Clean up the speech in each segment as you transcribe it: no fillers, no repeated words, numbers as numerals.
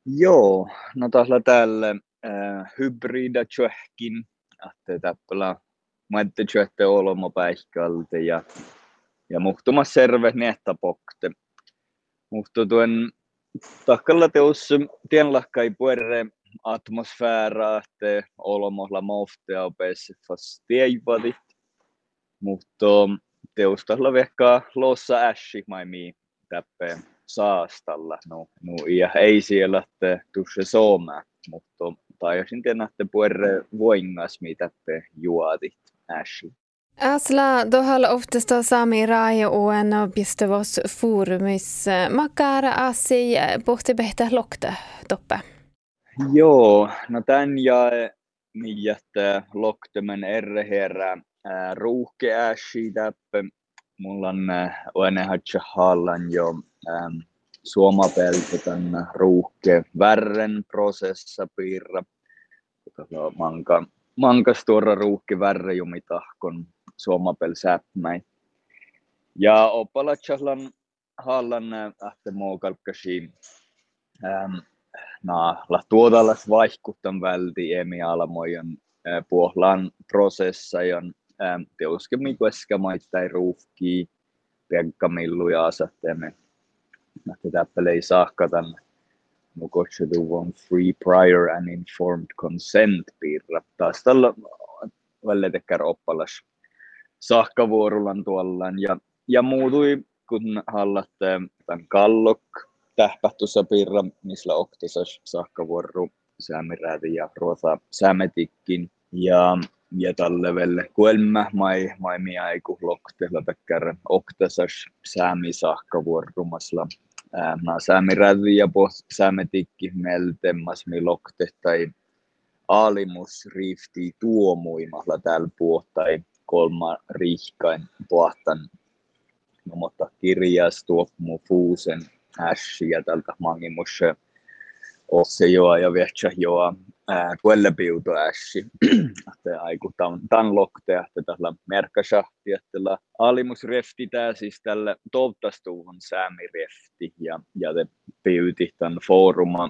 Joo, no tahla täällä hybrida tjöhkin, että täppälä maette tjöhte olmo päihkältä ja muhtumas serve nettapokte. Muhtu tuen tahkalla teus tienlahkai puerre atmosfääraa, että olmohla moftea opessifas tiejvadit, mutta teus tahla vehkaa lossa ässi maimi täppeen saastalla. No ja ei siellä että tusse sooma, mutta taisin tiedä, että puerre voingas mitä te juodit ässi. Asla dohal oftesta sami raja oen bistavos forumis makar asi pohti behtä lokta toppe. Joo, no tän jae että loktemen erreherä ruuhke ässi täppe. Mulla on enehatsa hallan jo suomapeltä tän ruuhke värren prosessa piirra. Mankas tuora ruuhke värre jumitahkon suomapel säpmäin. Ja opalatsahlan hallan ähte muukalkkasi la tuodalas vaihkuttan välti emialamojon puohlan prosessajon teuske mikueska maittai ruuhkii piekkamilluja asattemme. Nähtä täppele ei saahkatan mukotseduvon free prior and informed consent piirra. Taas tällä välitekkär oppalas saahkavuorullan tuollan ja muutui kun hallatte tämän kallok tähpähtussa piirra, missä oktasas saahkavuoru säämiräti ja ruosa säämetikkin ja tälle velle kuelmä mai miaiku loktella takkar oktasas säämi saahkavuorumasla säämiräti ja säämetikki meltemmas mi lokte tai alimus rifti tuomuimalla täällä puhtai kolma rihkain puhtan mutta kirjas tuopmu fuusen ässi ja tältä mangimus osse joa ja viehtsä joa kuellepiuto ässi. Aiku tan lokte, että tällä merkkasahti, että alimus refti tää siis tällä toivottastuuhon säämirefti ja te piuti tän fooruma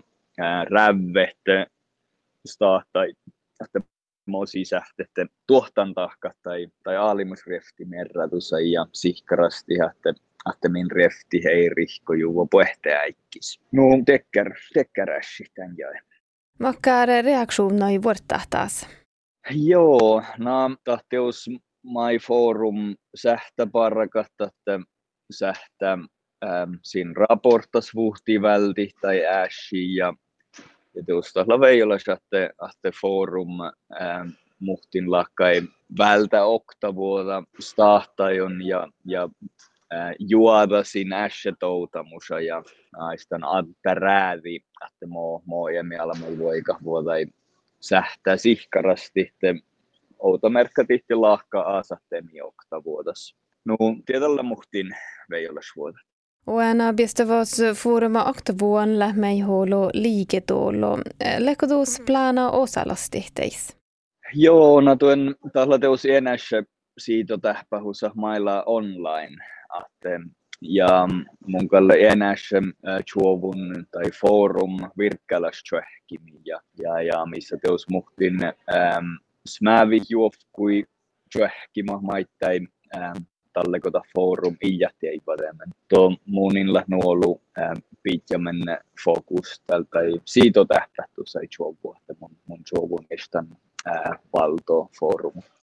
rävvehte startai, että sisähtette tuohtan tahka tai aalimusrefti merratusa ja sihkarasti, että min refti hei rihko juvo puhehteäikkis. No tekkärässi tän jäi. Makar reaktioner i vårt taas. Joo, tahtius mai forum sähtä parrakat, että sähtä siinä raportas vuhti välti tai ässi ja tuosta veijolas, että forum muhtin lakkai vältä oktavuota stahtajon ja juoda siinä ässätoutamusa ja aistan adta räävi, että mo emialamu voika vuotai sähtää sihkarasti, että outamerkkatihti lahka asattemi oktavuotas. No, tietällä muhtin veijolas vuoda. Oena bistavos foruma oktavuon lähmei holo liiketolo. Lekotus plana osalastihteis. Joo, no tuen tahlateus enässä siitä tähpähussa mailla online. Ja mun kalle enässä chuovun tai forum virkkäläs tjöhkimi ja missä teus muhtin smävi juofkui tjöhkima maittain tallekota forum iätti ei paremmin. Tuo muunilla nuolu pitjamen fokus tältä siitä tähtähtu sai chuovua, että mun chuovun estän valto forum.